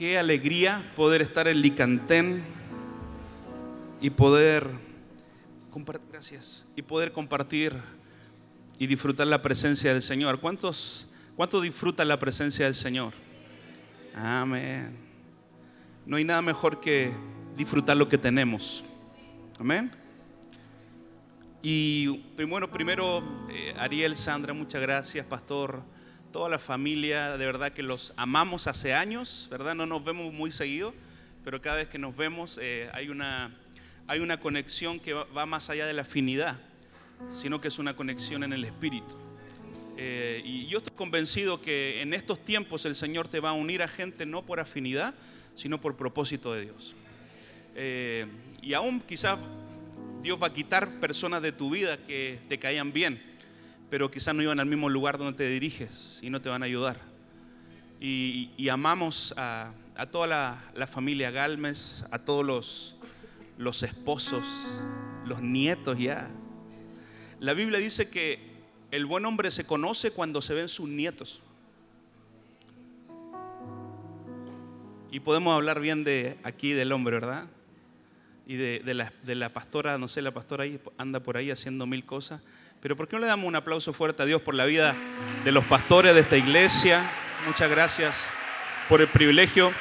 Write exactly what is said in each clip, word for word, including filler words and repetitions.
Qué alegría poder estar en Licantén y poder compartir, gracias, y poder compartir y disfrutar la presencia del Señor. ¿Cuántos, cuántos disfrutan la presencia del Señor? Amén. No hay nada mejor que disfrutar lo que tenemos. Amén. Y bueno, primero, eh, Ariel, Sandra, muchas gracias, pastor. Toda la familia, de verdad que los amamos hace años, ¿verdad? No nos vemos muy seguido, pero cada vez que nos vemos eh, hay una, hay una conexión que va, va más allá de la afinidad, sino que es una conexión en el espíritu. Eh, y yo estoy convencido que en estos tiempos el Señor te va a unir a gente no por afinidad, sino por propósito de Dios. Eh, y aún quizás Dios va a quitar personas de tu vida que te caían bien, pero quizás no iban al mismo lugar donde te diriges y no te van a ayudar. Y, y amamos a, a toda la, la familia Galmes, a todos los, los esposos, los nietos ya. La Biblia dice que el buen hombre se conoce cuando se ven sus nietos. Y podemos hablar bien de aquí del hombre, ¿verdad? Y de, de, la, de la pastora, no sé, la pastora ahí anda por ahí haciendo mil cosas. Pero ¿por qué no le damos un aplauso fuerte a Dios por la vida de los pastores de esta iglesia? Muchas gracias por el privilegio.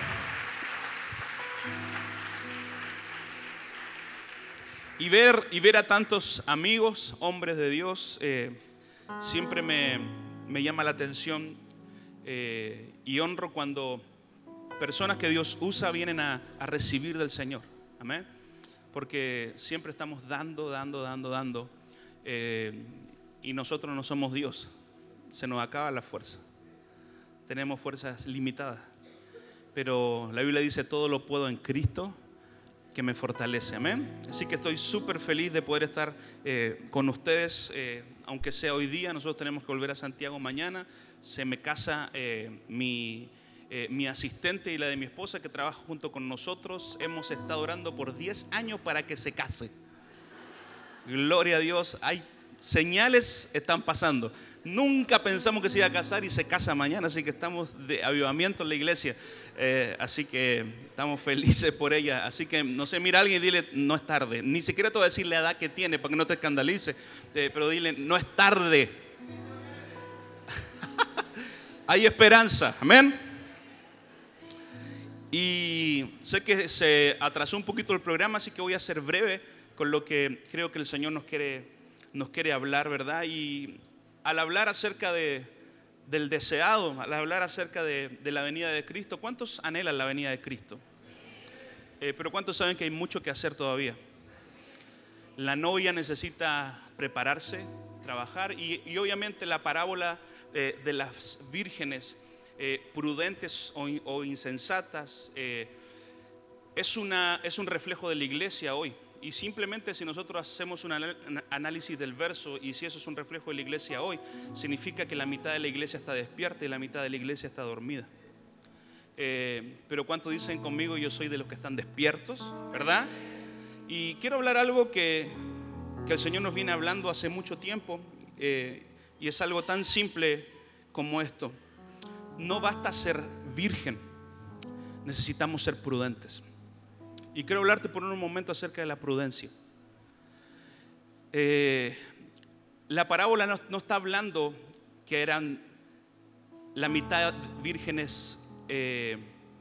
Y ver, y ver a tantos amigos, hombres de Dios, eh, siempre me, me llama la atención eh, y honro cuando personas que Dios usa vienen a, a recibir del Señor. Amén. Porque siempre estamos dando, dando, dando, dando. Eh, y nosotros no somos Dios, se nos acaba la fuerza, tenemos fuerzas limitadas, pero la Biblia dice todo lo puedo en Cristo que me fortalece, amén. Así que estoy súper feliz de poder estar eh, con ustedes, eh, aunque sea hoy día. Nosotros tenemos que volver a Santiago mañana, se me casa eh, mi, eh, mi asistente y la de mi esposa que trabaja junto con nosotros. Hemos estado orando por diez años para que se case. Gloria a Dios, hay señales, están pasando. Nunca pensamos que se iba a casar y se casa mañana, así que estamos de avivamiento en la iglesia. Eh, así que estamos felices por ella. Así que, no sé, mira a alguien y dile, no es tarde. Ni siquiera te voy a decir la edad que tiene para que no te escandalice, eh, pero dile, no es tarde. Hay esperanza, amén. Y sé que se atrasó un poquito el programa, así que voy a ser breve con lo que creo que el Señor nos quiere, nos quiere hablar, ¿verdad? Y al hablar acerca de, del deseado, al hablar acerca de, de la venida de Cristo, ¿cuántos anhelan la venida de Cristo? Eh, pero ¿cuántos saben que hay mucho que hacer todavía? La novia necesita prepararse, trabajar, y, y obviamente la parábola eh, de las vírgenes eh, prudentes o, o insensatas eh, es, una, es un reflejo de la iglesia hoy. Y simplemente si nosotros hacemos un análisis del verso y si eso es un reflejo de la iglesia hoy, significa que la mitad de la iglesia está despierta y la mitad de la iglesia está dormida. Eh, pero ¿cuántos dicen conmigo? Yo soy de los que están despiertos, ¿verdad? Y quiero hablar algo que, que el Señor nos viene hablando hace mucho tiempo eh, y es algo tan simple como esto. No basta ser virgen, necesitamos ser prudentes. Y quiero hablarte por un momento acerca de la prudencia. Eh, la parábola no, no está hablando que eran la mitad vírgenes eh,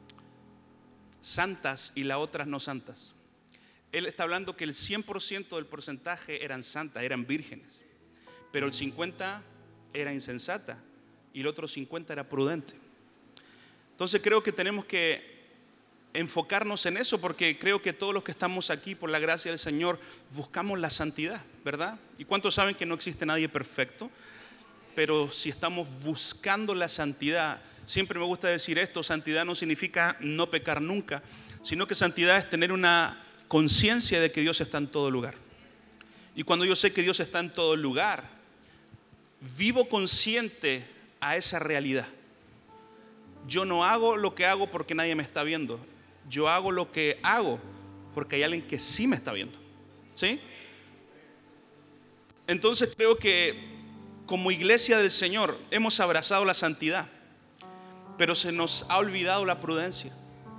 santas y las otras no santas. Él está hablando que el cien por ciento del porcentaje eran santas, eran vírgenes. Pero el cincuenta por ciento era insensata y el otro cincuenta por ciento era prudente. Entonces creo que tenemos que enfocarnos en eso, porque creo que todos los que estamos aquí por la gracia del Señor buscamos la santidad, ¿verdad? ¿Y cuántos saben que no existe nadie perfecto? Pero si estamos buscando la santidad, siempre me gusta decir esto, santidad no significa no pecar nunca, sino que santidad es tener una conciencia de que Dios está en todo lugar. Y cuando yo sé que Dios está en todo lugar, vivo consciente a esa realidad. Yo no hago lo que hago porque nadie me está viendo. Yo hago lo que hago porque hay alguien que sí me está viendo. ¿Sí? Entonces creo que como iglesia del Señor hemos abrazado la santidad, pero se nos ha olvidado la prudencia.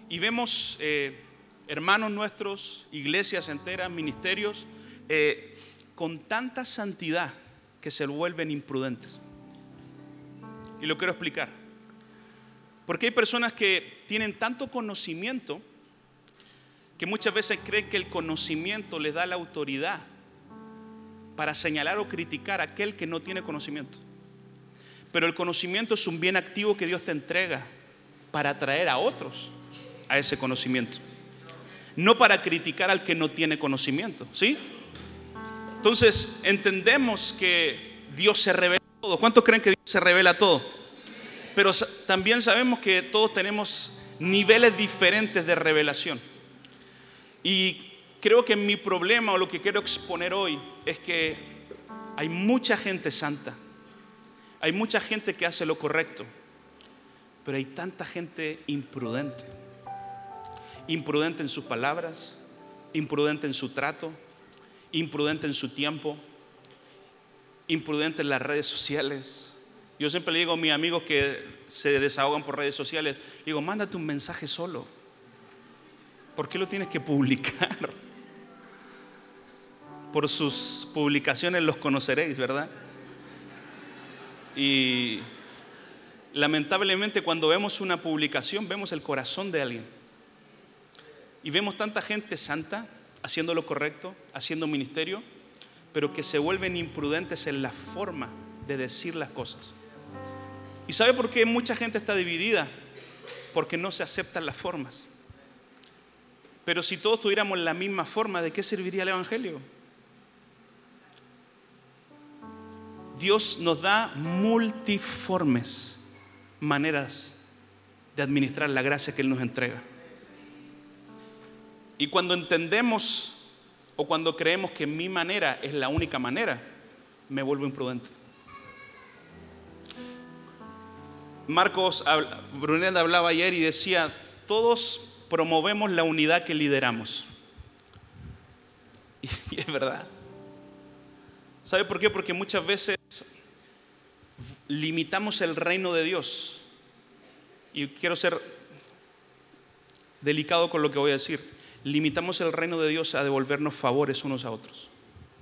y vemos eh, hermanos nuestros, iglesias enteras, ministerios, eh, con tanta santidad que se vuelven imprudentes. Y lo quiero explicar. Porque hay personas que tienen tanto conocimiento que muchas veces creen que el conocimiento les da la autoridad para señalar o criticar a aquel que no tiene conocimiento. Pero el conocimiento es un bien activo que Dios te entrega para atraer a otros a ese conocimiento, no para criticar al que no tiene conocimiento, ¿sí? Entonces entendemos que Dios se revela todo. ¿Cuántos creen que Dios se revela todo? Pero también sabemos que todos tenemos niveles diferentes de revelación. Y creo que mi problema, o lo que quiero exponer hoy, es que hay mucha gente santa, hay mucha gente que hace lo correcto, pero hay tanta gente imprudente. Imprudente en sus palabras, imprudente en su trato, imprudente en su tiempo, imprudente en las redes sociales. Yo siempre le digo a mis amigos que se desahogan por redes sociales, digo, mándate un mensaje solo. ¿Por qué lo tienes que publicar? Por sus publicaciones los conoceréis, ¿verdad? Y lamentablemente cuando vemos una publicación vemos el corazón de alguien. Y vemos tanta gente santa haciendo lo correcto, haciendo ministerio, pero que se vuelven imprudentes en la forma de decir las cosas. ¿Y sabe por qué mucha gente está dividida? Porque no se aceptan las formas. Pero si todos tuviéramos la misma forma, ¿de qué serviría el evangelio? Dios nos da multiformes maneras de administrar la gracia que Él nos entrega. Y cuando entendemos o cuando creemos que mi manera es la única manera, me vuelvo imprudente. Marcos Brunet hablaba ayer y decía, todos promovemos la unidad que lideramos. Y es verdad. ¿Sabe por qué? Porque muchas veces limitamos el reino de Dios. Y quiero ser delicado con lo que voy a decir. Limitamos el reino de Dios a devolvernos favores unos a otros.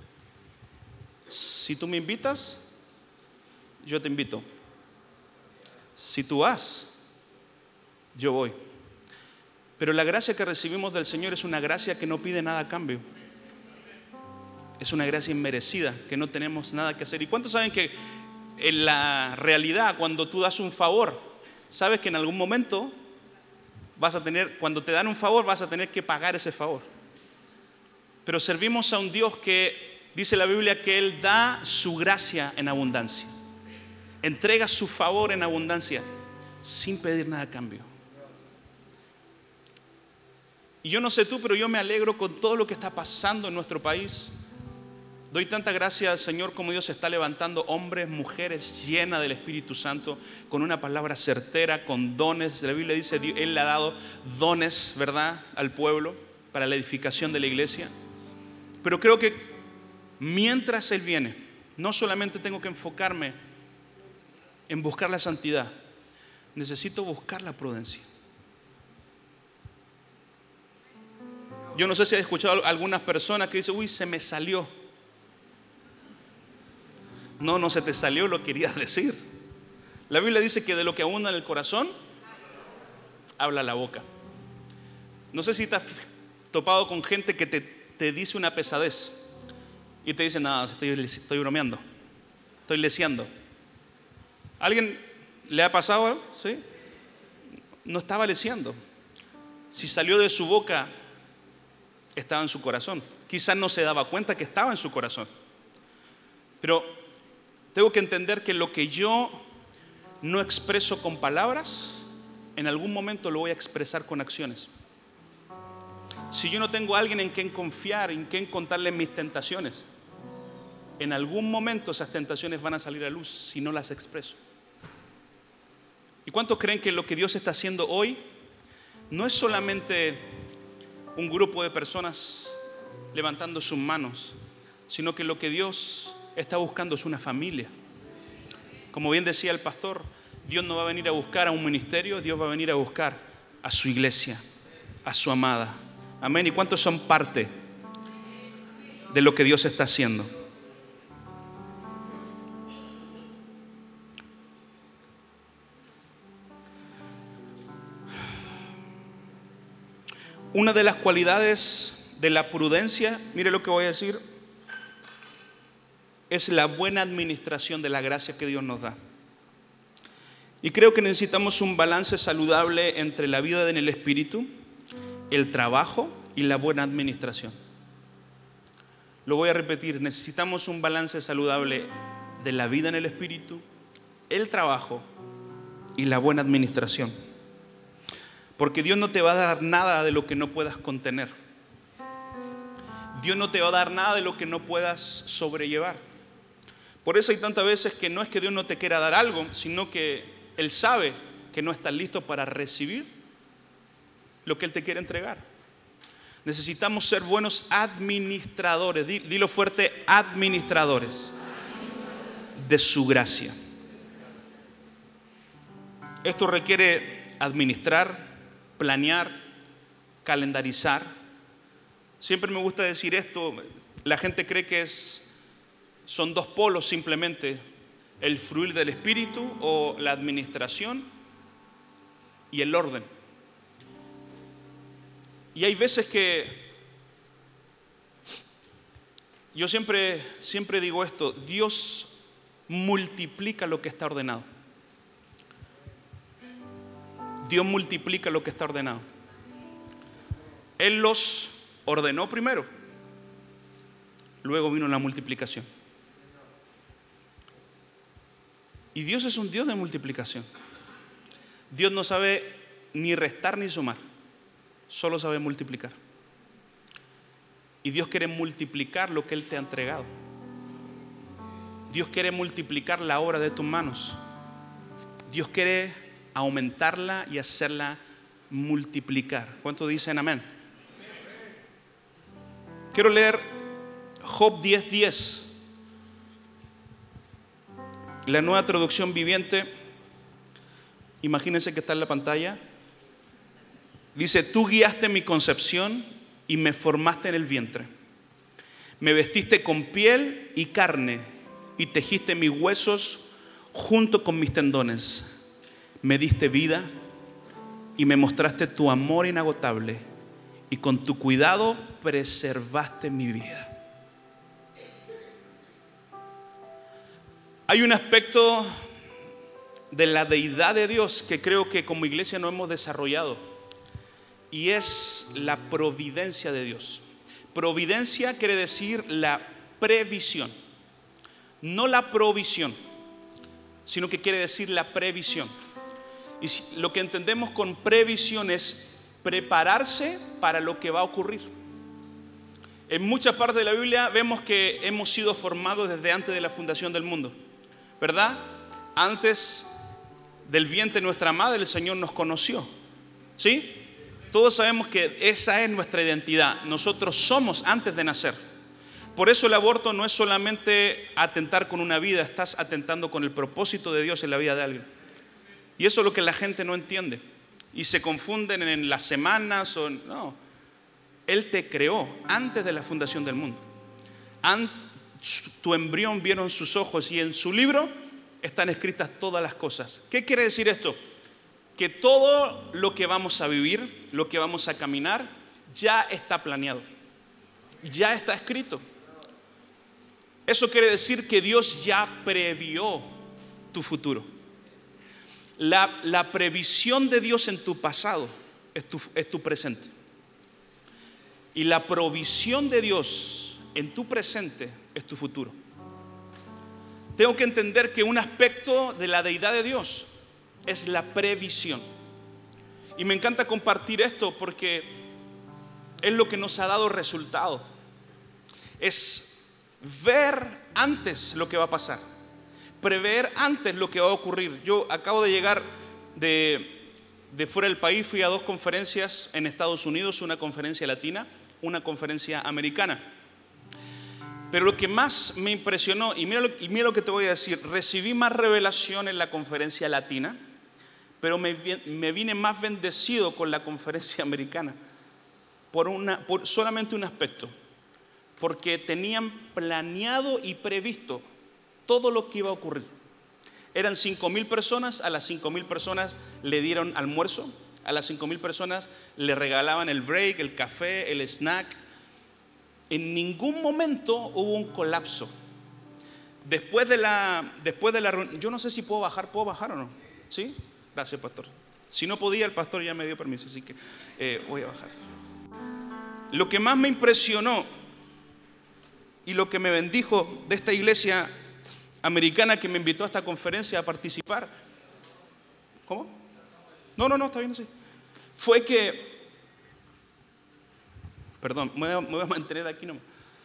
Si tú me invitas, yo te invito. Si tú vas, yo voy. Pero la gracia que recibimos del Señor es una gracia que no pide nada a cambio. Es una gracia inmerecida, que no tenemos nada que hacer. ¿Y cuántos saben que en la realidad, cuando tú das un favor, sabes que en algún momento vas a tener, cuando te dan un favor, vas a tener que pagar ese favor? Pero servimos a un Dios que dice la Biblia que Él da su gracia en abundancia. Entrega su favor en abundancia sin pedir nada a cambio. Y yo no sé tú, pero yo me alegro con todo lo que está pasando en nuestro país. Doy tanta gracia al Señor como Dios está levantando hombres, mujeres llenas del Espíritu Santo, con una palabra certera, con dones. La Biblia dice, Él le ha dado dones, ¿verdad?, al pueblo para la edificación de la iglesia. Pero creo que mientras Él viene, no solamente tengo que enfocarme en buscar la santidad, necesito buscar la prudencia. Yo no sé si has escuchado a algunas personas que dicen, uy, se me salió. No, no se te salió, lo querías decir. La Biblia dice que de lo que abunda en el corazón, habla la boca. No sé si te has topado con gente que te, te dice una pesadez y te dice, nada, estoy, estoy bromeando, estoy leseando. ¿Alguien le ha pasado? ¿Sí? No estaba leseando. Si salió de su boca, estaba en su corazón. Quizás no se daba cuenta que estaba en su corazón. Pero tengo que entender que lo que yo no expreso con palabras, en algún momento lo voy a expresar con acciones. Si yo no tengo a alguien en quien confiar, en quien contarle mis tentaciones, en algún momento esas tentaciones van a salir a luz si no las expreso. ¿Y cuántos creen que lo que Dios está haciendo hoy no es solamente un grupo de personas levantando sus manos, sino que lo que Dios está buscando es una familia? Como bien decía el pastor, Dios no va a venir a buscar a un ministerio, Dios va a venir a buscar a su iglesia. a su amada. Amén. ¿Y cuántos son parte de lo que Dios está haciendo? Una de las cualidades de la prudencia, mire lo que voy a decir, es la buena administración de la gracia que Dios nos da. Y creo que necesitamos un balance saludable entre la vida en el Espíritu, el trabajo y la buena administración. Lo voy a repetir, necesitamos un balance saludable de la vida en el Espíritu, el trabajo y la buena administración. Porque Dios no te va a dar nada de lo que no puedas contener. Dios no te va a dar nada de lo que no puedas sobrellevar. Por eso hay tantas veces que no es que Dios no te quiera dar algo, sino que Él sabe que no estás listo para recibir lo que Él te quiere entregar. Necesitamos ser buenos administradores, dilo fuerte, administradores de su gracia. Esto requiere administrar, planear, calendarizar. Siempre me gusta decir esto, la gente cree que es, son dos polos simplemente, el fluir del Espíritu o la administración y el orden. Y hay veces que yo siempre, siempre digo esto, Dios multiplica lo que está ordenado. Dios multiplica lo que está ordenado. Él los ordenó primero, luego vino la multiplicación. Y Dios es un Dios de multiplicación. Dios no sabe ni restar ni sumar, solo sabe multiplicar. Y Dios quiere multiplicar lo que Él te ha entregado. Dios quiere multiplicar la obra de tus manos. Dios quiere aumentarla y hacerla multiplicar. ¿Cuántos dicen amén? Quiero leer Job diez diez. La Nueva Traducción Viviente. Imagínense que está en la pantalla. Dice: tú guiaste mi concepción y me formaste en el vientre. Me vestiste con piel y carne y tejiste mis huesos junto con mis tendones. Me diste vida y me mostraste tu amor inagotable, y con tu cuidado preservaste mi vida. Hay un aspecto de la deidad de Dios que creo que como iglesia no hemos desarrollado, y es la providencia de Dios. Providencia quiere decir la previsión, no la provisión, sino que quiere decir la previsión. Y lo que entendemos con previsión es prepararse para lo que va a ocurrir. En muchas partes de la Biblia vemos que hemos sido formados desde antes de la fundación del mundo, ¿verdad? Antes del vientre de nuestra madre el Señor nos conoció, ¿sí? Todos sabemos que esa es nuestra identidad. Nosotros somos antes de nacer. Por eso el aborto no es solamente atentar con una vida, estás atentando con el propósito de Dios en la vida de alguien. Y eso es lo que la gente no entiende. Y se confunden en las semanas o no. Él te creó antes de la fundación del mundo. Ant, tu embrión vieron sus ojos y en su libro están escritas todas las cosas. ¿Qué quiere decir esto? Que todo lo que vamos a vivir, lo que vamos a caminar, ya está planeado. Ya está escrito. Eso quiere decir que Dios ya previó tu futuro. La, la previsión de Dios en tu pasado es tu, es tu presente. Y la provisión de Dios en tu presente es tu futuro. Tengo que entender que un aspecto de la deidad de Dios es la previsión. Y me encanta compartir esto porque es lo que nos ha dado resultado. Es ver antes lo que va a pasar. Prever antes lo que va a ocurrir. Yo acabo de llegar de, de fuera del país, fui a dos conferencias en Estados Unidos, una conferencia latina, una conferencia americana. Pero lo que más me impresionó, y mira lo, y mira lo que te voy a decir, recibí más revelación en la conferencia latina, pero me, me vine más bendecido con la conferencia americana. por, una, por solamente un aspecto, porque tenían planeado y previsto todo lo que iba a ocurrir. Eran cinco mil personas, a las cinco mil personas le dieron almuerzo, a las cinco mil personas le regalaban el break, el café, el snack. En ningún momento hubo un colapso. Después de la, después de la reunión, yo no sé si puedo bajar, ¿puedo bajar o no? ¿Sí? Gracias, pastor. Si no podía, el pastor ya me dio permiso, así que eh, voy a bajar. Lo que más me impresionó y lo que me bendijo de esta iglesia americana que me invitó a esta conferencia a participar, ¿cómo? No, no, no, está bien así. Fue que, perdón, me voy a, me voy a mantener aquí nomás.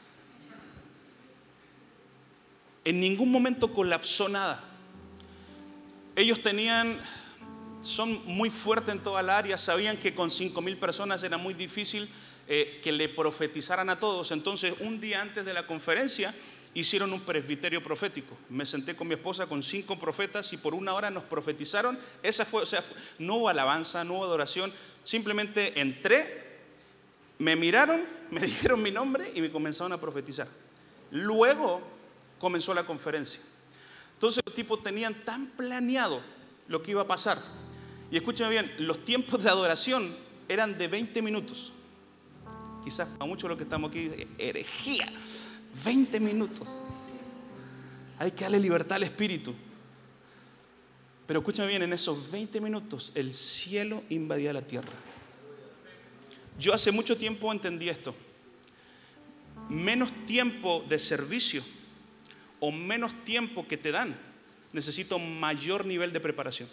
En ningún momento colapsó nada. Ellos tenían, son muy fuertes en toda la área, sabían que con cinco mil personas era muy difícil eh, que le profetizaran a todos. Entonces, un día antes de la conferencia, hicieron un presbiterio profético. Me senté con mi esposa con cinco profetas y por una hora nos profetizaron. Esa fue, o sea, no hubo alabanza, no hubo adoración. Simplemente entré, me miraron, me dijeron mi nombre y me comenzaron a profetizar. Luego comenzó la conferencia. Entonces los tipos tenían tan planeado lo que iba a pasar. Y escúchame bien, los tiempos de adoración eran de veinte minutos. Quizás para muchos de los que estamos aquí, herejía. veinte minutos. Hay que darle libertad al Espíritu. Pero escúchame bien, en esos veinte minutos el cielo invadía la tierra. Yo hace mucho tiempo entendí esto. Menos tiempo de servicio o menos tiempo que te dan, necesito mayor nivel de preparación.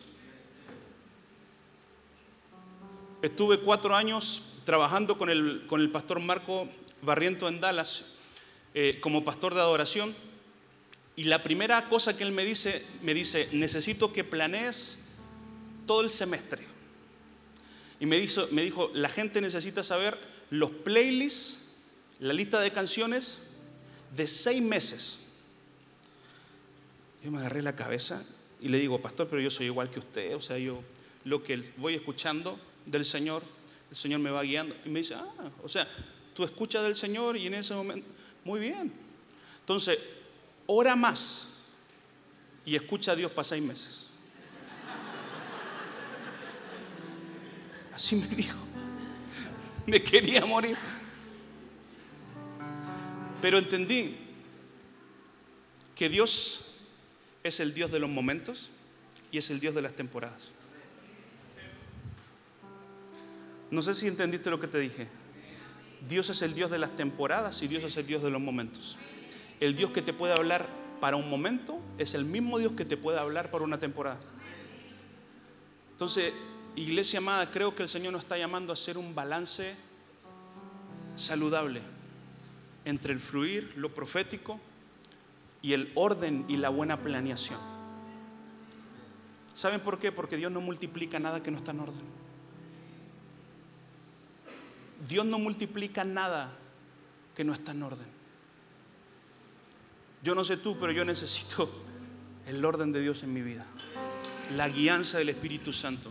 Estuve cuatro años trabajando con el, con el pastor Marco Barriento en Dallas eh, como pastor de adoración, y la primera cosa que él me dice, me dice, necesito que planees todo el semestre. Y me dijo, me dijo, la gente necesita saber los playlists, la lista de canciones de seis meses. Yo me agarré la cabeza y le digo, pastor, pero yo soy igual que usted, o sea, yo lo que voy escuchando del Señor, el Señor me va guiando. Y me dice, ah, o sea, tú escuchas del Señor y en ese momento, muy bien. Entonces, ora más y escucha a Dios para seis meses. Así me dijo. Me quería morir. Pero entendí que Dios es el Dios de los momentos y es el Dios de las temporadas. No sé si entendiste lo que te dije. Dios es el Dios de las temporadas y Dios es el Dios de los momentos. El Dios que te puede hablar para un momento es el mismo Dios que te puede hablar para una temporada. Entonces, iglesia amada, creo que el Señor nos está llamando a hacer un balance saludable entre el fluir, lo profético y el orden y la buena planeación. ¿Saben por qué? Porque Dios no multiplica nada que no está en orden. Dios no multiplica nada que no está en orden. Yo no sé tú, pero yo necesito el orden de Dios en mi vida, la guianza del Espíritu Santo.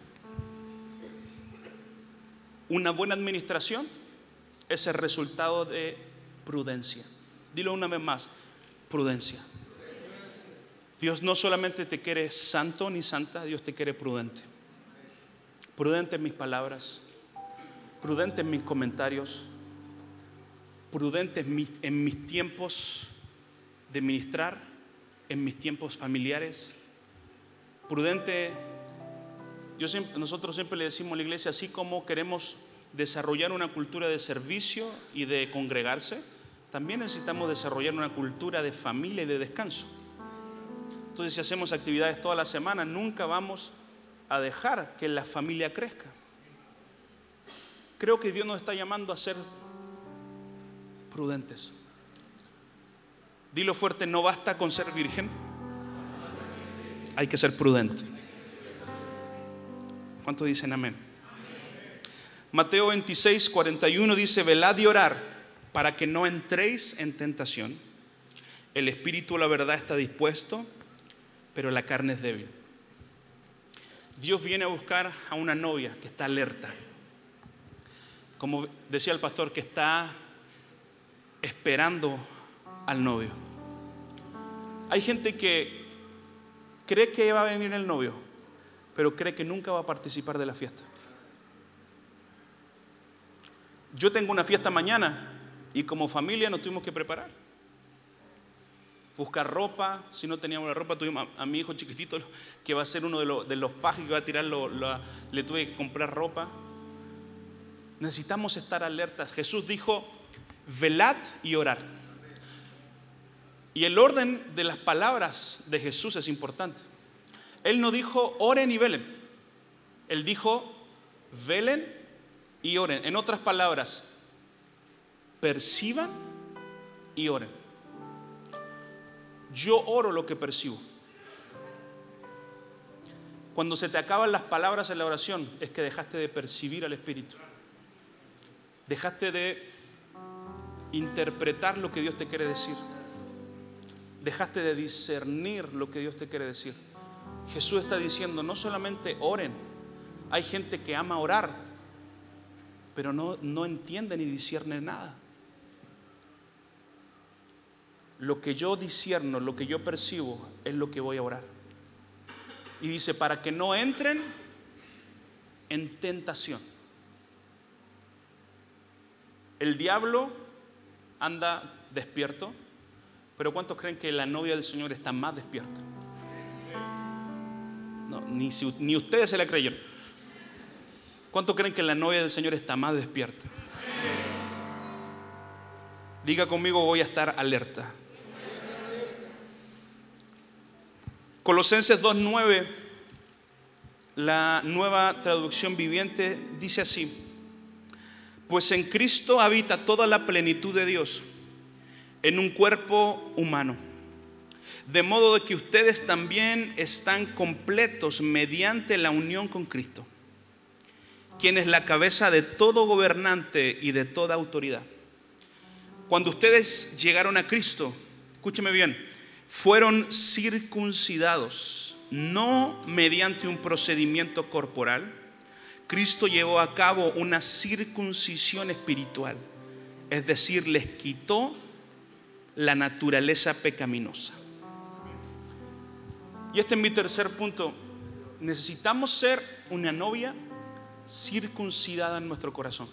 Una buena administración es el resultado de prudencia. Dilo una vez más, prudencia. Dios no solamente te quiere santo ni santa, Dios te quiere prudente. Prudente en mis palabras, prudente en mis comentarios, prudente en mis, en mis tiempos de ministrar, en mis tiempos familiares. Prudente, yo siempre, nosotros siempre le decimos a la iglesia, así como queremos desarrollar una cultura de servicio y de congregarse, también necesitamos desarrollar una cultura de familia y de descanso. Entonces, si hacemos actividades toda la semana, nunca vamos a dejar que la familia crezca. Creo que Dios nos está llamando a ser prudentes. Dilo fuerte, no basta con ser virgen, hay que ser prudente. ¿Cuántos dicen amén? Mateo veintiséis, cuarenta y uno dice, velad y orad para que no entréis en tentación. El espíritu, la verdad, está dispuesto, pero la carne es débil. Dios viene a buscar a una novia que está alerta. como decía el pastor, que está esperando al novio. Hay gente que cree que va a venir el novio, pero cree que nunca va a participar de la fiesta. Yo tengo una fiesta mañana y como familia nos tuvimos que preparar. Buscar ropa, si no teníamos la ropa, tuvimos a, a mi hijo chiquitito que va a ser uno de, los, de los pajes que va a tirar, lo, lo, le tuve que comprar ropa. Necesitamos estar alertas. Jesús dijo, velad y orad. Y el orden de las palabras de Jesús es importante. Él no dijo oren y velen. Él dijo velen y oren. En otras palabras, perciban y oren. Yo oro lo que percibo. Cuando se te acaban las palabras en la oración, es que dejaste de percibir al Espíritu. Dejaste de interpretar lo que Dios te quiere decir. Dejaste de discernir lo que Dios te quiere decir. Jesús está diciendo, no solamente oren. Hay gente que ama orar, pero no, no entiende ni discierne nada. Lo que yo discierno, lo que yo percibo, es lo que voy a orar. Y dice, para que no entren en tentación. El diablo anda despierto, pero ¿cuántos creen que la novia del Señor está más despierta? No, ni, si, ni ustedes se la creyeron. ¿Cuántos creen que la novia del Señor está más despierta? Diga conmigo, voy a estar alerta. Colosenses dos nueve, la Nueva Traducción Viviente, dice así: pues en Cristo habita toda la plenitud de Dios en un cuerpo humano, de modo de que ustedes también están completos mediante la unión con Cristo, quien es la cabeza de todo gobernante y de toda autoridad. Cuando ustedes llegaron a Cristo, escúcheme bien, fueron circuncidados, no mediante un procedimiento corporal. Cristo llevó a cabo una circuncisión espiritual, es decir, les quitó la naturaleza pecaminosa. Y este es mi tercer punto. Necesitamos ser una novia circuncidada en nuestro corazón.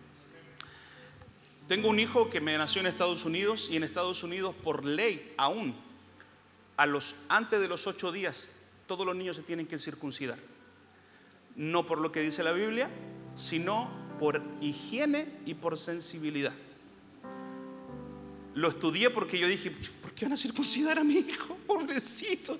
Tengo un hijo que me nació en Estados Unidos, y en Estados Unidos por ley aún a los, antes de los ocho días todos los niños se tienen que circuncidar. No por lo que dice la Biblia, sino por higiene y por sensibilidad. Lo estudié porque yo dije, ¿por qué van a circuncidar a mi hijo? Pobrecito.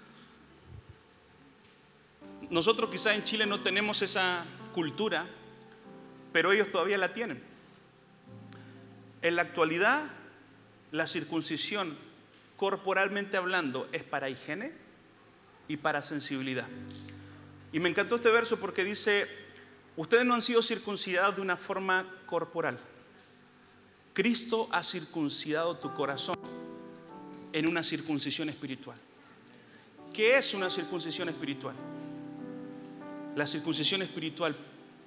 Nosotros quizás en Chile no tenemos esa cultura, pero ellos todavía la tienen. En la actualidad, la circuncisión, corporalmente hablando, es para higiene y para sensibilidad. Y me encantó este verso porque dice, ustedes no han sido circuncidados de una forma corporal. Cristo ha circuncidado tu corazón en una circuncisión espiritual. ¿Qué es una circuncisión espiritual? La circuncisión espiritual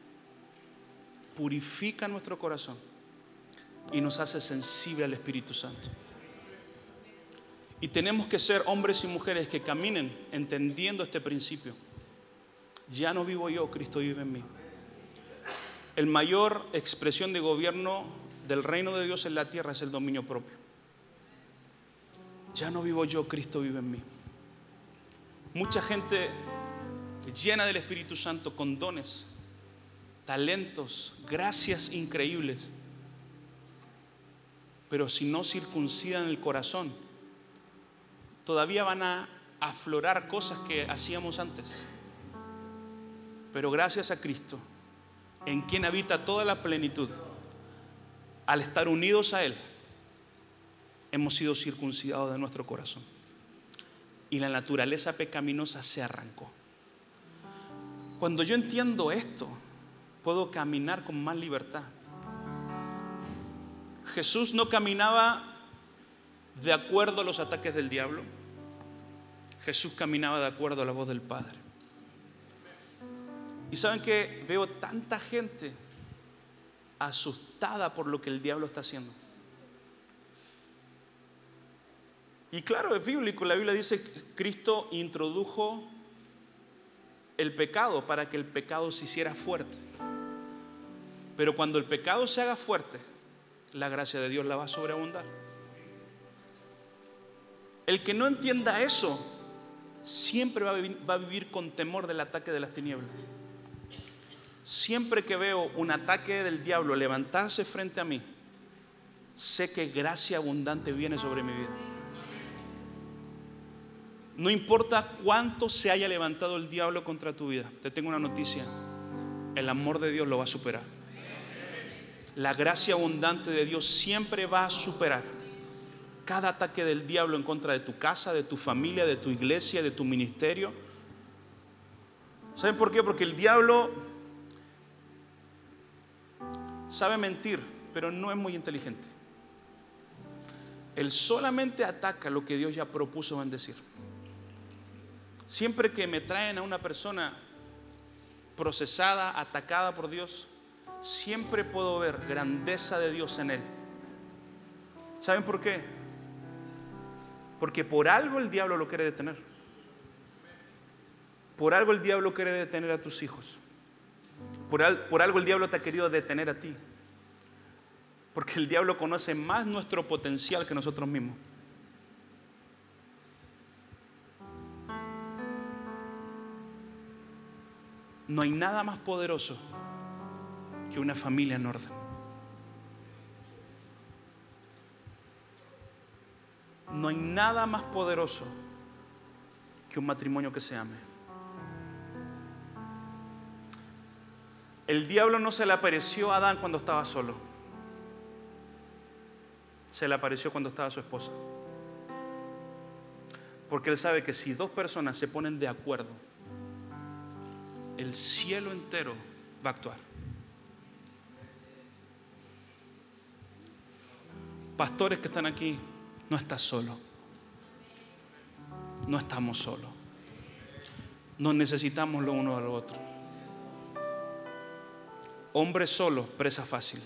purifica nuestro corazón y nos hace sensible al Espíritu Santo. Y tenemos que ser hombres y mujeres que caminen entendiendo este principio. Ya no vivo yo, Cristo vive en mí. El mayor expresión de gobierno del reino de Dios en la tierra es el dominio propio. Ya no vivo yo, Cristo vive en mí. Mucha gente llena del Espíritu Santo, con dones, talentos, gracias increíbles, pero si no circuncidan el corazón, todavía van a aflorar cosas que hacíamos antes. Pero gracias a Cristo, en quien habita toda la plenitud, al estar unidos a Él, hemos sido circuncidados de nuestro corazón. Y la naturaleza pecaminosa se arrancó. Cuando yo entiendo esto, puedo caminar con más libertad. Jesús no caminaba de acuerdo a los ataques del diablo. Jesús caminaba de acuerdo a la voz del Padre. Y saben que veo tanta gente asustada por lo que el diablo está haciendo. Y claro, es bíblico, la Biblia dice que Cristo introdujo el pecado para que el pecado se hiciera fuerte. Pero cuando el pecado se haga fuerte, la gracia de Dios la va a sobreabundar. El que no entienda eso, siempre va a vivir, va a vivir con temor del ataque de las tinieblas. Siempre que veo un ataque del diablo levantarse frente a mí, sé que gracia abundante viene sobre mi vida. No importa cuánto se haya levantado el diablo contra tu vida, te tengo una noticia: el amor de Dios lo va a superar. La gracia abundante de Dios siempre va a superar cada ataque del diablo en contra de tu casa, de tu familia, de tu iglesia, de tu ministerio. ¿Saben por qué? Porque el diablo sabe mentir, pero no es muy inteligente. Él solamente ataca lo que Dios ya propuso bendecir. Siempre que me traen a una persona procesada, atacada por Dios, siempre puedo ver grandeza de Dios en él. ¿Saben por qué? Porque por algo el diablo lo quiere detener. Por algo el diablo quiere detener a tus hijos. Por, al, por algo el diablo te ha querido detener a ti. Porque el diablo conoce más nuestro potencial que nosotros mismos. No hay nada más poderoso que una familia en orden. No hay nada más poderoso que un matrimonio que se ame. El diablo no se le apareció a Adán cuando estaba solo. Se le apareció cuando estaba su esposa. Porque él sabe que si dos personas se ponen de acuerdo, el cielo entero va a actuar. Pastores que están aquí, no estás solo. No estamos solos. Nos necesitamos lo uno al otro. Hombres solos, presa fácil.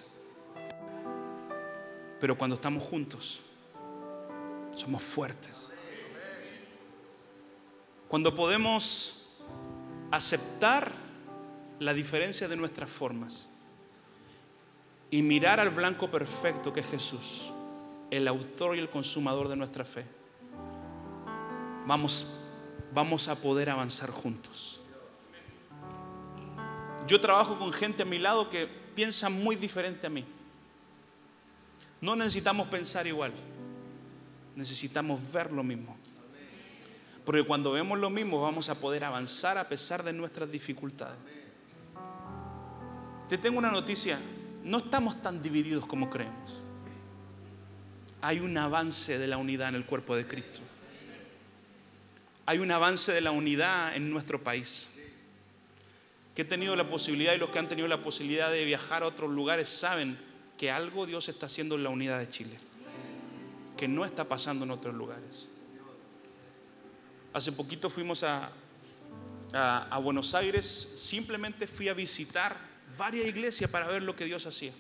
Pero cuando estamos juntos, somos fuertes. Cuando podemos aceptar la diferencia de nuestras formas y mirar al blanco perfecto que es Jesús, el autor y el consumador de nuestra fe, vamos, vamos a poder avanzar juntos. Yo trabajo con gente a mi lado que piensa muy diferente a mí. No necesitamos pensar igual, necesitamos ver lo mismo. Porque cuando vemos lo mismo vamos a poder avanzar a pesar de nuestras dificultades. Te tengo una noticia: no estamos tan divididos como creemos. Hay un avance de la unidad en el cuerpo de Cristo. Hay un avance de la unidad en nuestro país. Que he tenido la posibilidad, y los que han tenido la posibilidad de viajar a otros lugares saben que algo Dios está haciendo en la unidad de Chile, que no está pasando en otros lugares. Hace poquito fuimos a, a, a Buenos Aires. Simplemente fui a visitar varias iglesias para ver lo que Dios hacía.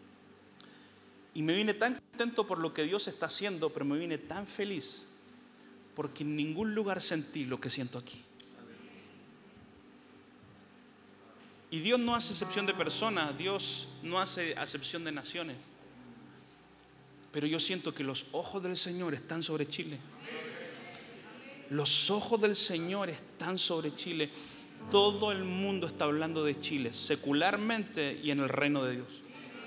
Y me vine tan contento por lo que Dios está haciendo, pero me vine tan feliz porque en ningún lugar sentí lo que siento aquí. Y Dios no hace excepción de personas, Dios no hace acepción de naciones. Pero yo siento que los ojos del Señor están sobre Chile. Los ojos del Señor están sobre Chile. Todo el mundo está hablando de Chile, secularmente y en el reino de Dios.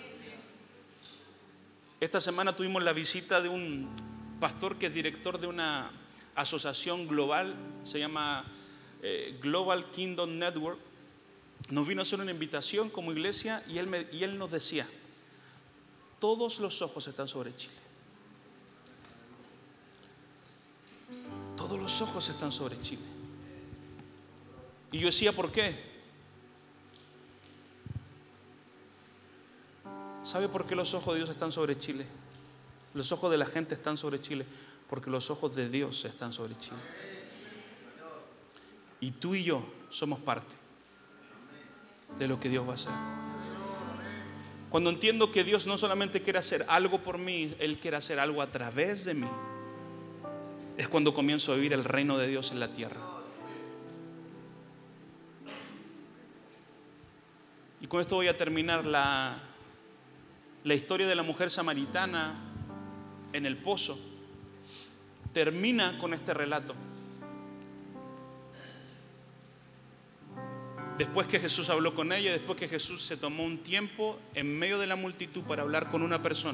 Esta semana tuvimos la visita de un pastor que es director de una asociación global, se llama eh, Global Kingdom Network. Nos vino a hacer una invitación como iglesia y él, me, y él nos decía: todos los ojos están sobre Chile. Todos los ojos están sobre Chile. Y yo decía, ¿por qué? ¿Sabe por qué los ojos de Dios están sobre Chile? Los ojos de la gente están sobre Chile porque los ojos de Dios están sobre Chile. Y tú y yo somos parte de lo que Dios va a hacer. Cuando entiendo que Dios no solamente quiere hacer algo por mí, Él quiere hacer algo a través de mí, es cuando comienzo a vivir el reino de Dios en la tierra. Y con esto voy a terminar. La, la historia de la mujer samaritana en el pozo termina con este relato. Después que Jesús habló con ella, después que Jesús se tomó un tiempo en medio de la multitud para hablar con una persona,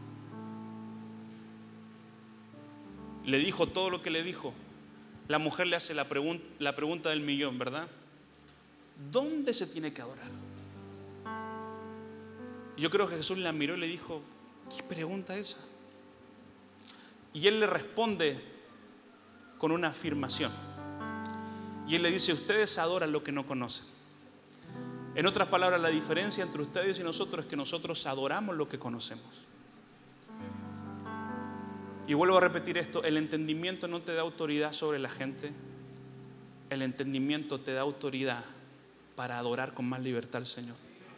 le dijo todo lo que le dijo. La mujer le hace la, pregun- la pregunta del millón, ¿verdad? ¿Dónde se tiene que adorar? Yo creo que Jesús la miró y le dijo, ¿qué pregunta es esa? Y él le responde con una afirmación. Y él le dice, ustedes adoran lo que no conocen. En otras palabras, la diferencia entre ustedes y nosotros es que nosotros adoramos lo que conocemos. Y vuelvo a repetir esto, el entendimiento no te da autoridad sobre la gente. El entendimiento te da autoridad para adorar con más libertad al Señor.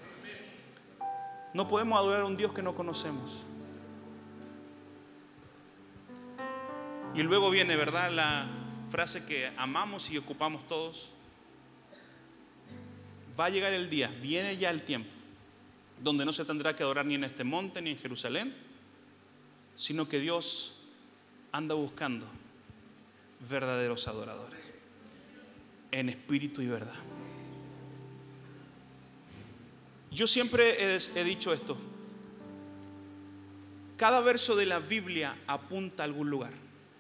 No podemos adorar a un Dios que no conocemos. Y luego viene, ¿verdad?, la frase que amamos y ocupamos todos. Va a llegar el día, viene ya el tiempo, donde no se tendrá que adorar ni en este monte ni en Jerusalén, sino que Dios anda buscando verdaderos adoradores, en espíritu y verdad. Yo siempre he, he dicho esto: cada verso de la Biblia apunta a algún lugar.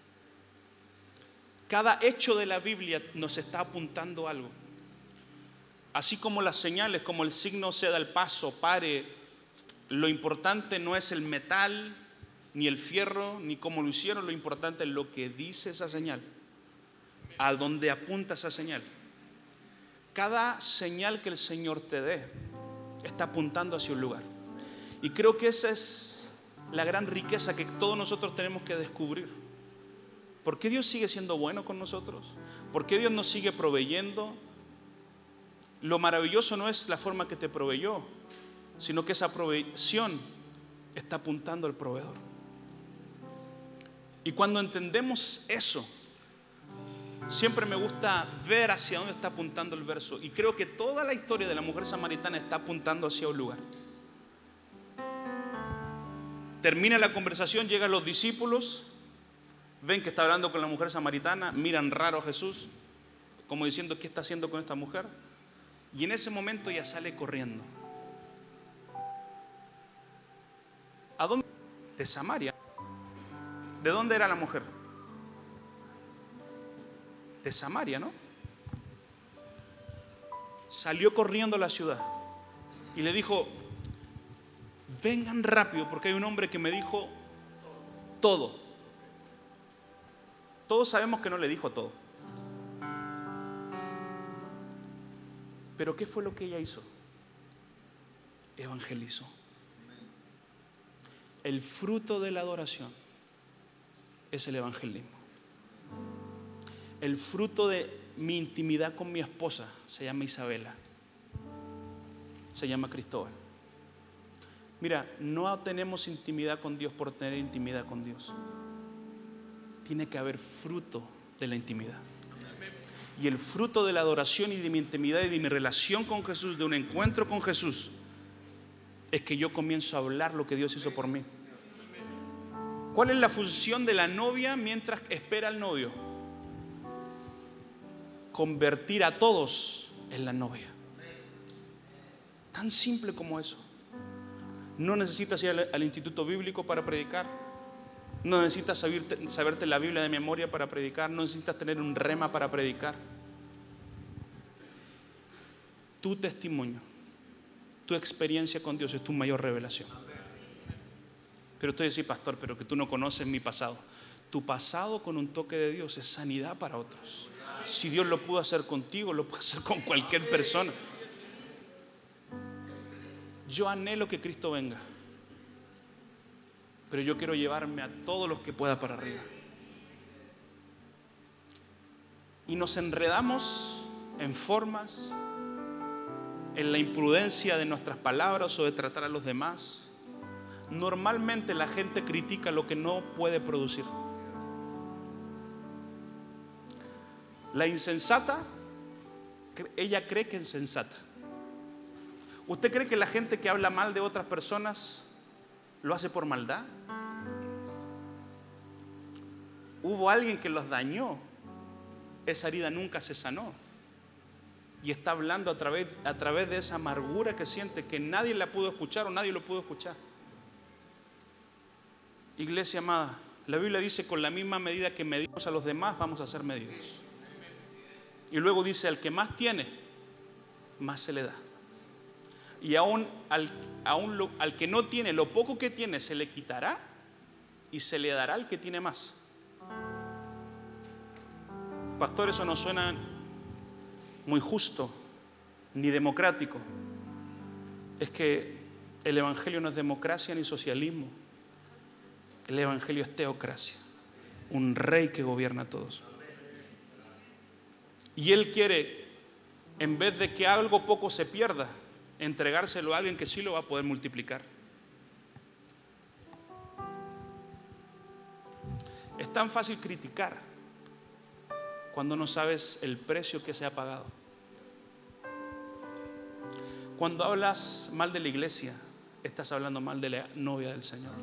Cada hecho de la Biblia nos está apuntando algo. Así como las señales, como el signo se da el paso, pare, lo importante no es el metal, ni el fierro, ni cómo lo hicieron, lo importante es lo que dice esa señal, a dónde apunta esa señal. Cada señal que el Señor te dé está apuntando hacia un lugar. Y creo que esa es la gran riqueza que todos nosotros tenemos que descubrir. ¿Por qué Dios sigue siendo bueno con nosotros? ¿Por qué Dios nos sigue proveyendo? Lo maravilloso no es la forma que te proveyó, sino que esa provisión está apuntando al proveedor. Y cuando entendemos eso, siempre me gusta ver hacia dónde está apuntando el verso. Y creo que toda la historia de la mujer samaritana está apuntando hacia un lugar. Termina la conversación, llegan los discípulos, ven que está hablando con la mujer samaritana, miran raro a Jesús, como diciendo, ¿qué está haciendo con esta mujer? Y en ese momento ella sale corriendo. ¿A dónde? De Samaria. ¿De dónde era la mujer? De Samaria, ¿no? Salió corriendo a la ciudad y le dijo, vengan rápido porque hay un hombre que me dijo todo. Todos sabemos que no le dijo todo. Pero ¿qué fue lo que ella hizo? Evangelizó. El fruto de la adoración es el evangelismo. El fruto de mi intimidad con mi esposa se llama Isabela, se llama Cristóbal. Mira, no tenemos intimidad con Dios por tener intimidad con Dios. Tiene que haber fruto de la intimidad. Y el fruto de la adoración y de mi intimidad y de mi relación con Jesús, de un encuentro con Jesús, es que yo comienzo a hablar lo que Dios hizo por mí. ¿Cuál es la función de la novia mientras espera al novio? Convertir a todos en la novia. Tan simple como eso. No necesitas ir al, al instituto bíblico para predicar. No necesitas saberte, saberte la Biblia de memoria para predicar. No necesitas tener un rema para predicar. Tu testimonio, tu experiencia con Dios es tu mayor revelación. Pero usted dice, pastor, pero que tú no conoces mi pasado. Tu pasado con un toque de Dios es sanidad para otros. Si Dios lo pudo hacer contigo, lo puede hacer con cualquier persona. Yo anhelo que Cristo venga, pero yo quiero llevarme a todos los que pueda para arriba. Y nos enredamos en formas en la imprudencia de nuestras palabras o de tratar a los demás. Normalmente la gente critica lo que no puede producir. La insensata, ella cree que es sensata. ¿Usted cree que la gente que habla mal de otras personas lo hace por maldad? Hubo alguien que los dañó. Esa herida nunca se sanó. Y está hablando a través, a través de esa amargura que siente, que nadie la pudo escuchar o nadie lo pudo escuchar. Iglesia amada, la Biblia dice: con la misma medida que medimos a los demás, vamos a ser medidos. Y luego dice: al que más tiene, más se le da. Y aún al, aún lo, al que no tiene, lo poco que tiene se le quitará y se le dará al que tiene más. Pastor, eso no suena muy justo ni democrático. Es que el evangelio no es democracia ni socialismo. El evangelio es teocracia, un rey que gobierna a todos. Y él quiere, en vez de que algo poco se pierda, entregárselo a alguien que sí lo va a poder multiplicar. Es tan fácil criticar cuando no sabes el precio que se ha pagado. Cuando hablas mal de la iglesia, estás hablando mal de la novia del Señor.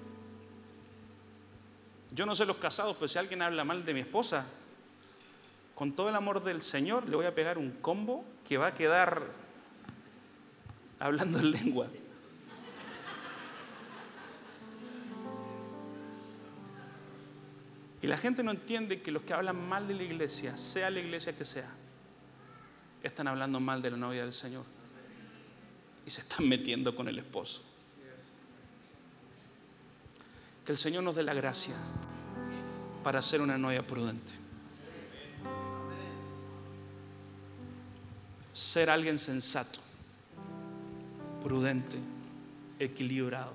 Yo no sé los casados, pero si alguien habla mal de mi esposa, con todo el amor del Señor, le voy a pegar un combo que va a quedar hablando en lengua. Y la gente no entiende que los que hablan mal de la iglesia, sea la iglesia que sea, están hablando mal de la novia del Señor y se están metiendo con el esposo. Que el Señor nos dé la gracia para ser una novia prudente. Ser alguien sensato, prudente, equilibrado.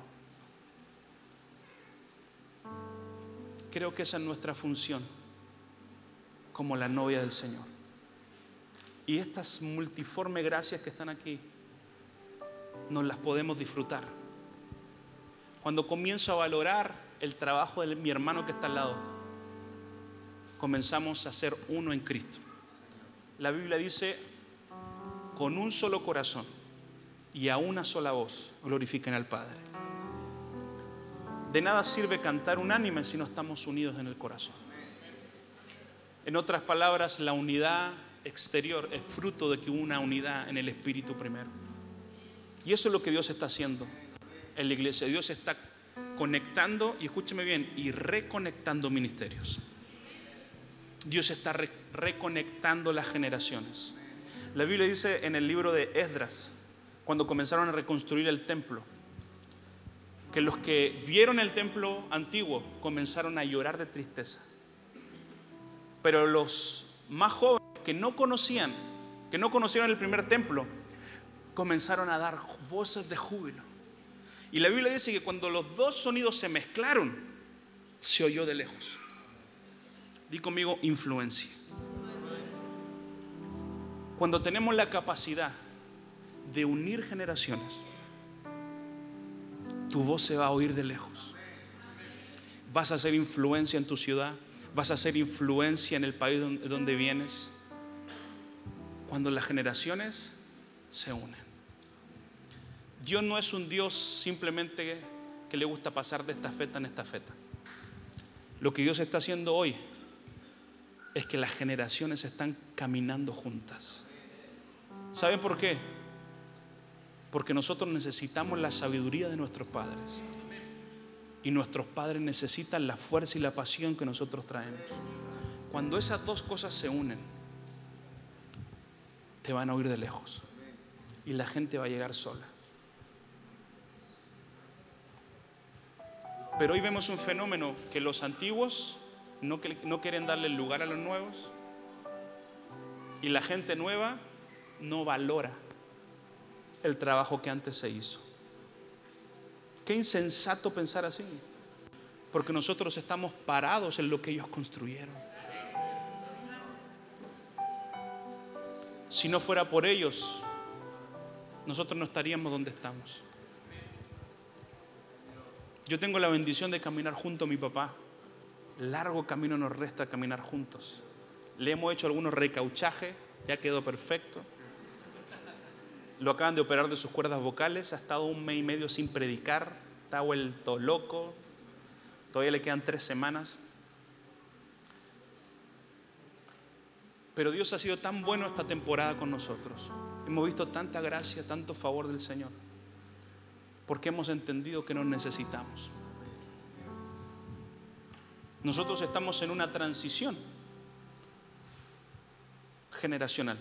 Creo que esa es nuestra función como la novia del Señor. Y estas multiformes gracias que están aquí, nos las podemos disfrutar. Cuando comienzo a valorar el trabajo de mi hermano que está al lado, comenzamos a ser uno en Cristo. La Biblia dice: con un solo corazón y a una sola voz glorifiquen al Padre. De nada sirve cantar unánime si no estamos unidos en el corazón. En otras palabras, la unidad exterior es fruto de que hubo una unidad en el Espíritu primero. Y eso es lo que Dios está haciendo en la iglesia. Dios está conectando, y escúcheme bien, y reconectando ministerios. Dios está re- reconectando las generaciones. La Biblia dice en el libro de Esdras, cuando comenzaron a reconstruir el templo, que los que vieron el templo antiguo comenzaron a llorar de tristeza. Pero los más jóvenes que no conocían, que no conocieron el primer templo, comenzaron a dar voces de júbilo. Y la Biblia dice que cuando los dos sonidos se mezclaron, se oyó de lejos. Di conmigo: influencia. Cuando tenemos la capacidad de unir generaciones, tu voz se va a oír de lejos. Vas a hacer influencia en tu ciudad, vas a hacer influencia en el país donde, donde vienes, cuando las generaciones se unen. Dios no es un Dios simplemente que le gusta pasar de esta feta en esta feta. Lo que Dios está haciendo hoy es que las generaciones están caminando juntas. ¿Saben por qué? Porque nosotros necesitamos la sabiduría de nuestros padres. Y nuestros padres necesitan la fuerza y la pasión que nosotros traemos. Cuando esas dos cosas se unen, te van a oír de lejos. Y la gente va a llegar sola. Pero hoy vemos un fenómeno que los antiguos no, no quieren darle lugar a los nuevos. Y la gente nueva no valora el trabajo que antes se hizo. Qué insensato pensar así, porque nosotros estamos parados en lo que ellos construyeron. Si no fuera por ellos, nosotros no estaríamos donde estamos. Yo tengo la bendición de caminar junto a mi papá. Largo camino nos resta caminar juntos. Le hemos hecho algunos recauchajes, ya quedó perfecto. Lo acaban de operar de sus cuerdas vocales, ha estado un mes y medio sin predicar, está vuelto loco. Todavía le quedan tres semanas. Pero Dios ha sido tan bueno esta temporada con nosotros. Hemos visto tanta gracia, tanto favor del Señor. Porque hemos entendido que nos necesitamos. Nosotros estamos en una transición generacional.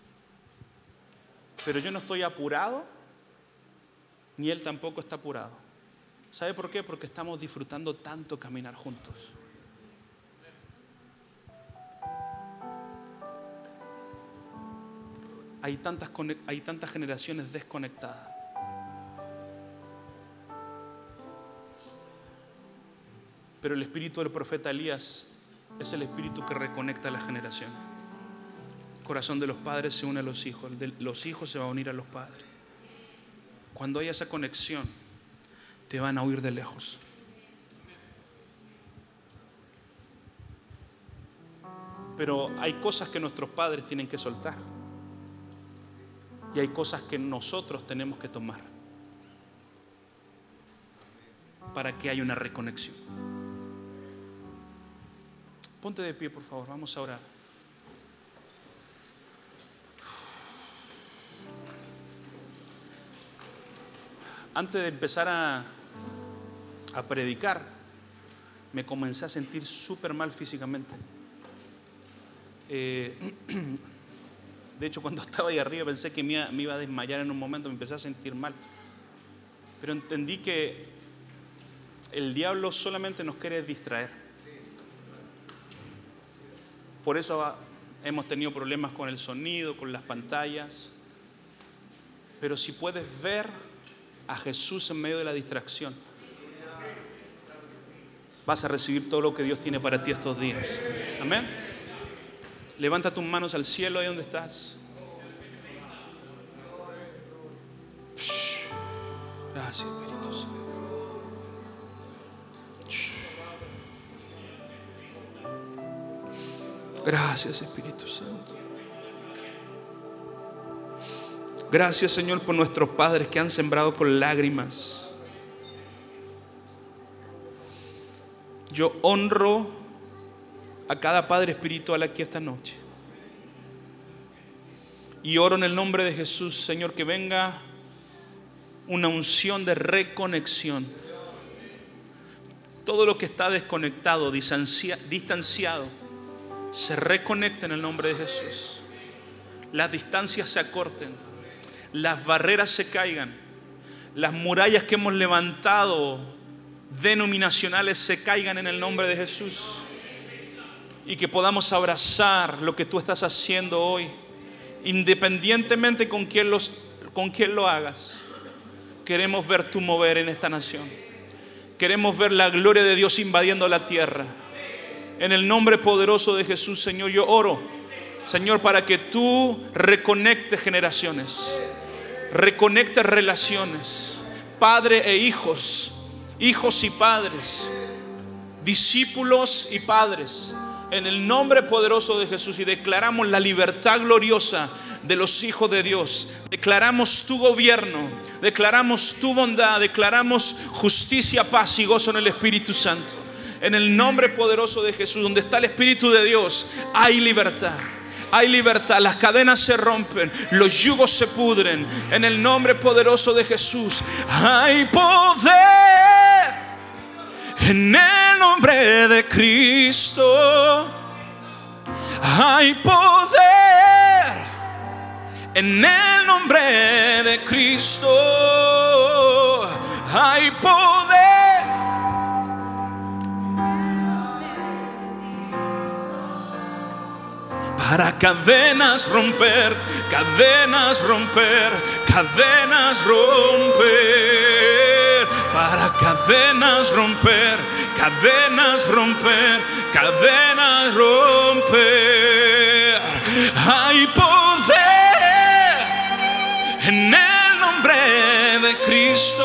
Pero yo no estoy apurado, ni él tampoco está apurado. ¿Sabe por qué? Porque estamos disfrutando tanto caminar juntos. Hay tantas, hay tantas generaciones desconectadas. Pero el espíritu del profeta Elías es el espíritu que reconecta a las generaciones. El corazón de los padres se une a los hijos, el de los hijos se va a unir a los padres. Cuando haya esa conexión, te van a oír de lejos. Pero hay cosas que nuestros padres tienen que soltar. Y hay cosas que nosotros tenemos que tomar para que haya una reconexión. Ponte de pie, por favor, vamos a orar. Antes de empezar a, a predicar, me comencé a sentir súper mal físicamente. Eh, de hecho, cuando estaba ahí arriba pensé que me iba, me iba a desmayar en un momento, me empecé a sentir mal. Pero entendí que el diablo solamente nos quiere distraer. Por eso hemos tenido problemas con el sonido, con las pantallas. Pero si puedes ver a Jesús en medio de la distracción, vas a recibir todo lo que Dios tiene para ti estos días. Amén. Levanta tus manos al cielo ahí donde estás. Gracias, Espíritu Santo. Gracias, Espíritu Santo. Gracias, Señor, por nuestros padres que han sembrado con lágrimas. Yo honro a cada padre espiritual aquí esta noche. Y oro en el nombre de Jesús, Señor, que venga una unción de reconexión. Todo lo que está desconectado, distanciado, se reconecta en el nombre de Jesús. Las distancias se acorten, las barreras se caigan, las murallas que hemos levantado denominacionales se caigan en el nombre de Jesús. Y que podamos abrazar lo que tú estás haciendo hoy, independientemente con quién, los, con quién lo hagas. Queremos ver tu mover en esta nación. Queremos ver la gloria de Dios invadiendo la tierra. En el nombre poderoso de Jesús, Señor, yo oro, Señor, para que tú reconectes generaciones, reconectes relaciones, padre e hijos, hijos y padres, discípulos y padres, en el nombre poderoso de Jesús. Y declaramos la libertad gloriosa de los hijos de Dios. Declaramos tu gobierno, declaramos tu bondad, declaramos justicia, paz y gozo en el Espíritu Santo. En el nombre poderoso de Jesús, donde está el Espíritu de Dios, hay libertad. Hay libertad, las cadenas se rompen, los yugos se pudren. En el nombre poderoso de Jesús, hay poder en el nombre de Cristo. Hay poder en el nombre de Cristo. Hay poder. Para cadenas romper, cadenas romper, cadenas romper. Para cadenas romper, cadenas romper, cadenas romper. Hay poder en el nombre nombre de Cristo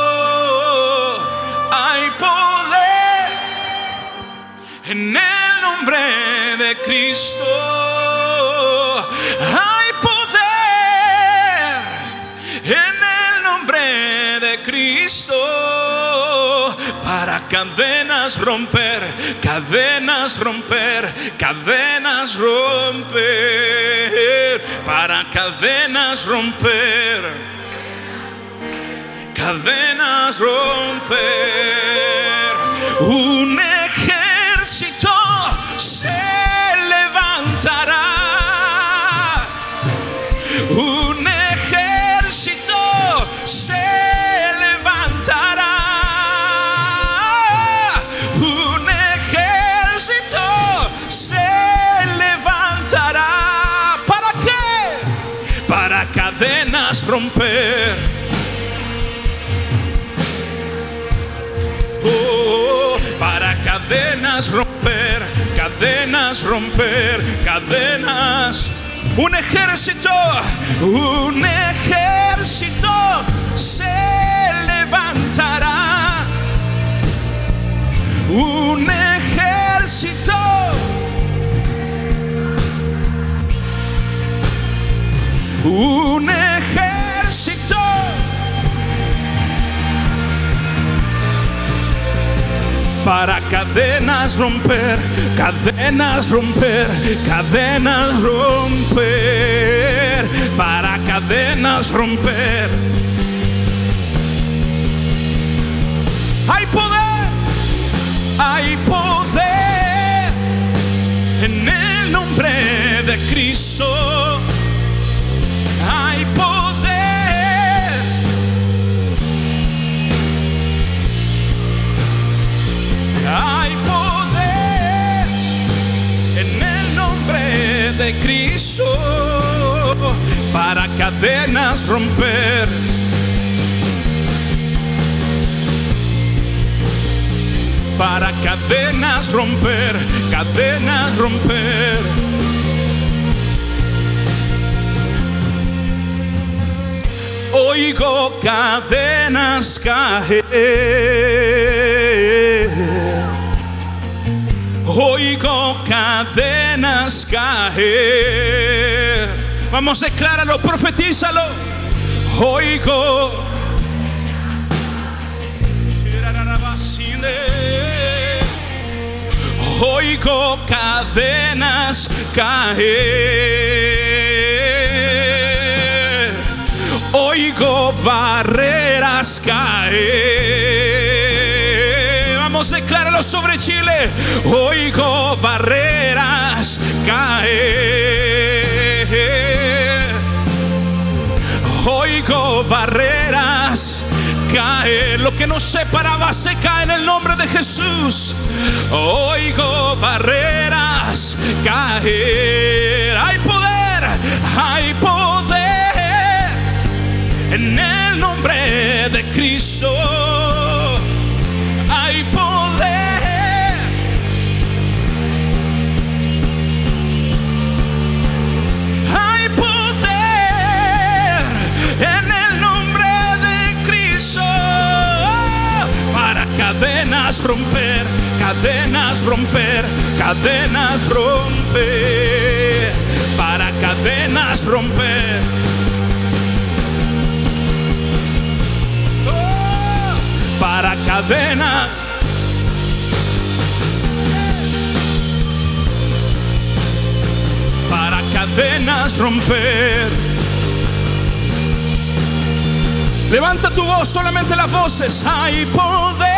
hay poder. En el nombre de Cristo hay poder. En el nombre de Cristo para cadenas romper, cadenas romper, cadenas romper, para cadenas romper, cadenas romper. Un ejército se levantará, un ejército se levantará, un ejército se levantará. ¿Para qué? Para cadenas romper. Oh, para cadenas romper, cadenas romper, cadenas. Un ejército, un ejército se levantará. Un ejército, un ejército para cadenas romper, cadenas romper, cadenas romper, para cadenas romper. Hay poder, hay poder en el nombre de Cristo. Hay poder, hay poder en el nombre de Cristo para cadenas romper. Para cadenas romper, cadenas romper. Oigo cadenas caer, oigo cadenas caer. Vamos, decláralo, profetízalo. Oigo, oigo cadenas caer, oigo barreras caer. Vamos, decláralo sobre Chile. Oigo barreras caer, oigo barreras caer. Lo que nos separaba se cae en el nombre de Jesús. Oigo barreras caer. Hay poder, hay poder en el nombre de Cristo. Hay poder, hay poder en el nombre de Cristo para cadenas romper, cadenas romper, cadenas romper, para cadenas romper. Oh, para cadenas, para cadenas romper. Levanta tu voz, solamente las voces. Hay poder